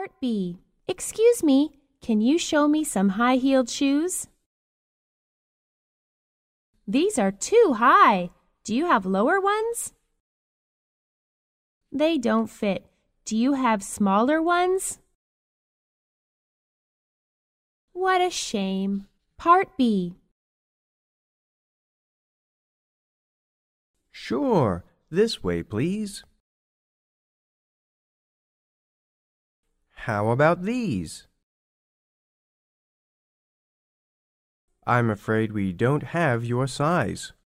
Part B. Excuse me, can you show me some high-heeled shoes? These are too high. Do you have lower ones? They don't fit. Do you have smaller ones? What a shame. Part B. Sure, this way, please. How about these? I'm afraid we don't have your size.